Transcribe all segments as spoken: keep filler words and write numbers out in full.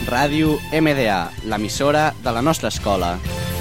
Ràdio M D A, l'emissora de la nostra escola.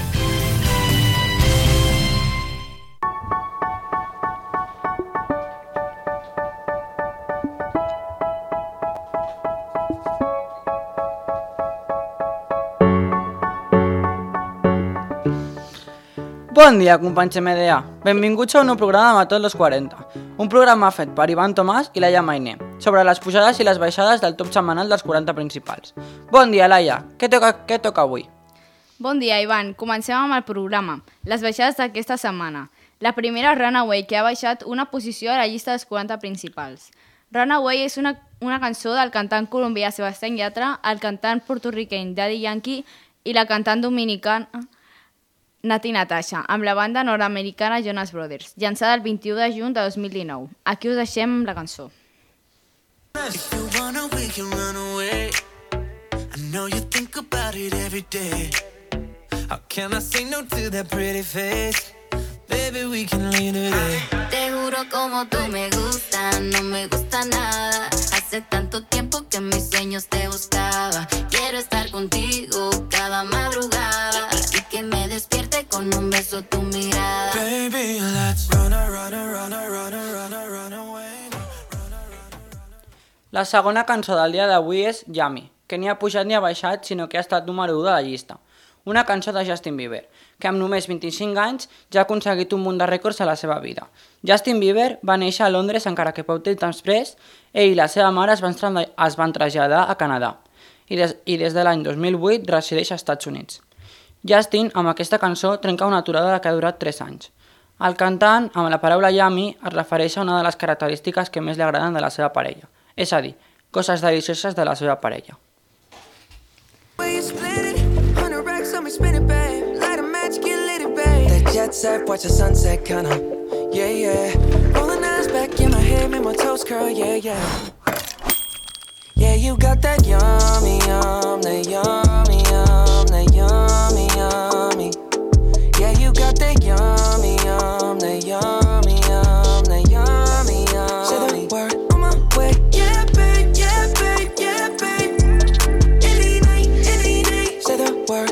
Bon dia, companys M D A. Benvinguts a un nou programa de Matot los quaranta, un programa fet per Ivan Tomàs i Laia Mainé, sobre les pujades i les baixades del top setmanal dels quaranta principals. Bon dia, Laia. Què toca, què toca avui? Bon dia, Ivan. Comencem amb el programa. Les baixades d'aquesta setmana. La primera, Runaway, que ha baixat una posició a la llista dels quaranta principals. Runaway és una, una cançó del cantant colombià Sebastián Yatra, el cantant porto-riqueny Daddy Yankee i la cantant dominicana Nati Natasha, amb la banda nord-americana Jonas Brothers, llançada el vint-i-u de juny de dos mil dinou. Aquí us deixem la cançó. If you wanna, we can run away. I know you think about it every day. How can I say no to that pretty face? Baby, we can leave today. Te juro como tú me gusta, no me gusta nada. Hace tanto tiempo que en mis sueños te buscaba. Quiero estar contigo cada madrugada y que me despierte con un beso tu mirada. Baby, let's run, run, run, run, run, run away. La segona cançó del dia d'avui és Yummy, que ni ha pujat ni ha baixat, sinó que ha estat número u de la llista. Una cançó de Justin Bieber, que amb només vint-i-cinc anys ja ha aconseguit un munt de rècords a la seva vida. Justin Bieber va néixer a Londres, encara que poc temps després, ell i la seva mare es van, es van traslladar a Canadà i des, i des de l'any dos mil vuit resideix als Estats Units. Justin, amb aquesta cançó, trenca una aturada que ha durat tres anys. El cantant, amb la paraula Yummy, es refereix a una de les característiques que més li agraden de la seva parella, és a dir, coses delicioses de la seva parella. Spin it, babe. Light a match, get lit, babe. That jet set, watch the sunset, kinda. Yeah, yeah. Rolling eyes back in my head, make my toes curl, yeah, yeah. Yeah, you got that yummy, yum, that yummy, yum, that yummy, yummy. Yeah, you got that yummy, yum, that yummy, yum, that yummy, yummy. Say the word on my way, yeah, babe, yeah, babe, yeah, babe. Any night, any night. Say the word.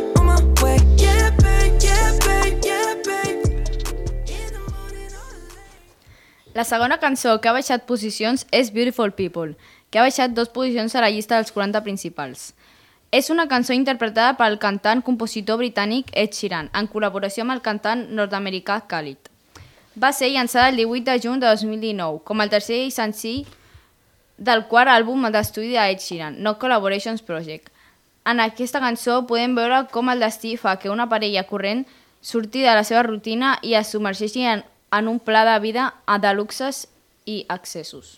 La segona cançó que ha baixat posicions és Beautiful People, que ha baixat dues posicions a la llista dels quaranta principals. És una cançó interpretada pel cantant compositor britànic Ed Sheeran, en col·laboració amb el cantant nord-americà Khalid. Va ser llançada el divuit de juny de dos mil dinou, com el tercer senzill del quart àlbum d'estudi d'Ed Sheeran, No Collaborations Project. En aquesta cançó podem veure com el destí fa que una parella corrent surti de la seva rutina i es submergeixi en en un pla de vida de luxes i accessos.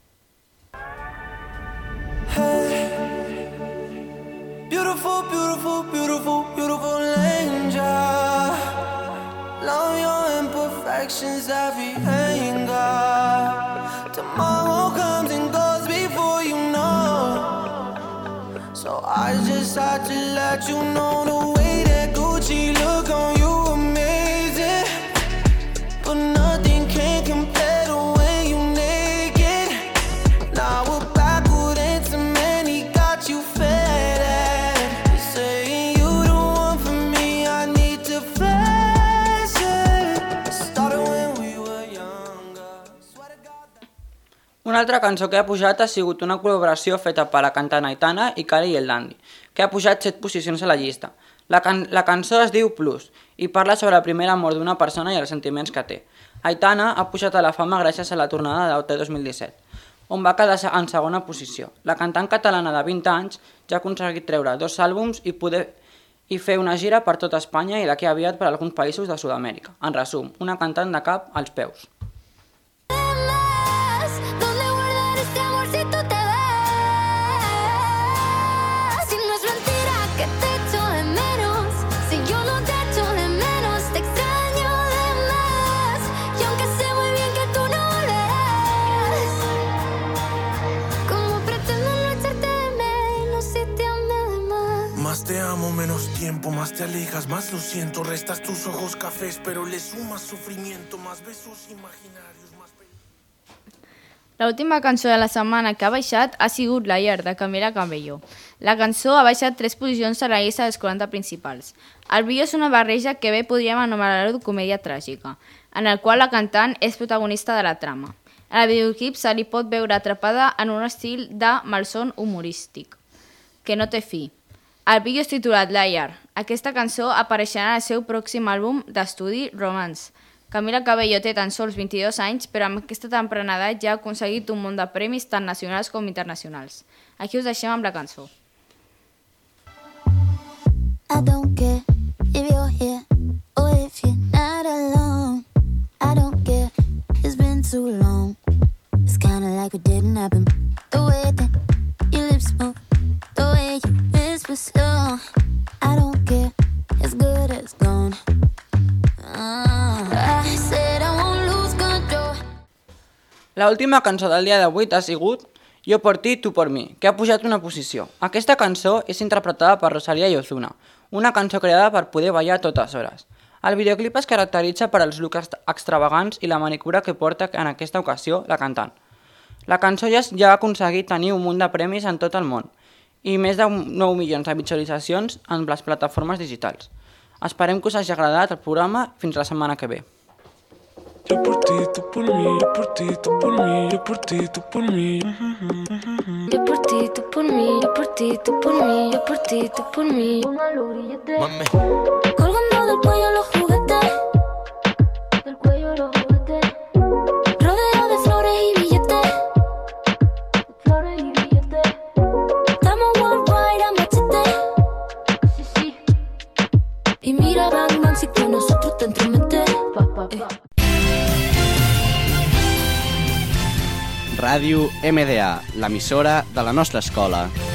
Hey, beautiful, beautiful, beautiful, beautiful angel. Love your imperfections, every anger. Tomorrow comes and goes before you know. So I just had to let you know the way that Gucci look on you. But nothing can compare to when you naked. Now we're backward and cement got you fed. You're saying you the one for me, I need to flash it. Started when we were younger. Una altra cançó que ha pujat ha sigut una col·laboració feta per la cantant Aitana i Kali el Dandy, que ha pujat set posicions a la llista. La, can la cançó es diu Plus i parla sobre el primer amor d'una persona i els sentiments que té. Aitana ha pujat a la fama gràcies a la tornada d'O T dos mil disset, on va quedar en segona posició. La cantant catalana de vint anys ja ha aconseguit treure dos àlbums i poder i fer una gira per tot Espanya i d'aquí aviat per alguns països de Sud-amèrica. En resum, una cantant de cap als peus. Más te amo, menos tiempo, más te alejas, más lo siento. Restas tus ojos cafés, pero le sumas sufrimiento, más besos imaginarios, más... L'última cançó de la setmana que ha baixat ha sigut Liar, de Camila Cabello. La cançó ha baixat tres posicions a la llista dels quaranta principals. El vídeo és una barreja que bé podríem anomenar-ho comèdia tràgica, en el qual la cantant és protagonista de la trama. En el videoclip se li pot veure atrapada en un estil de malson humorístic, que no té fi. El vídeo és titulat Liar. Aquesta cançó apareixerà en el seu pròxim àlbum d'estudi Romance. Camila Cabello té tan sols vint-i-dos anys, però amb aquesta temprana edat ja ha aconseguit un munt de premis tant nacionals com internacionals. Aquí us deixem amb la cançó. I don't care if you're here or if you're not alone. I don't care, it's been too long. It's kinda like it didn't happen. The way that your lips move, the way you whisper slow. I don't care, it's good as gone. La última cançó del dia d'avui ha sigut Jo por ti, tu por mi, que ha pujat una posició. Aquesta cançó és interpretada per Rosalía i Ozuna, una cançó creada per poder ballar a totes hores. El videoclip es caracteritza per als looks extravagants i la manicura que porta en aquesta ocasió la cantant. La cançó ja, ja ha aconseguit tenir un munt de premis en tot el món i més de nou milions de visualitzacions en les plataformes digitals. Esperem que us hagi agradat el programa. Fins la setmana que ve. Yo por ti, tú por mí, yo por ti, tú por mí, yo por ti, tú por mí. Yo por ti, tú por mí, yo por ti, tú por mí, yo por ti, tú por mí. Mami. Colgando del cuello los juguetes, del cuello los juguetes, rodeado de flores y billetes, flores y billetes. Estamos worldwide a machete, sí, sí. Y mira, Bang Bang, si con nosotros te entromete. Pa, pa, pa. Ràdio M D A, l'emissora de la nostra escola.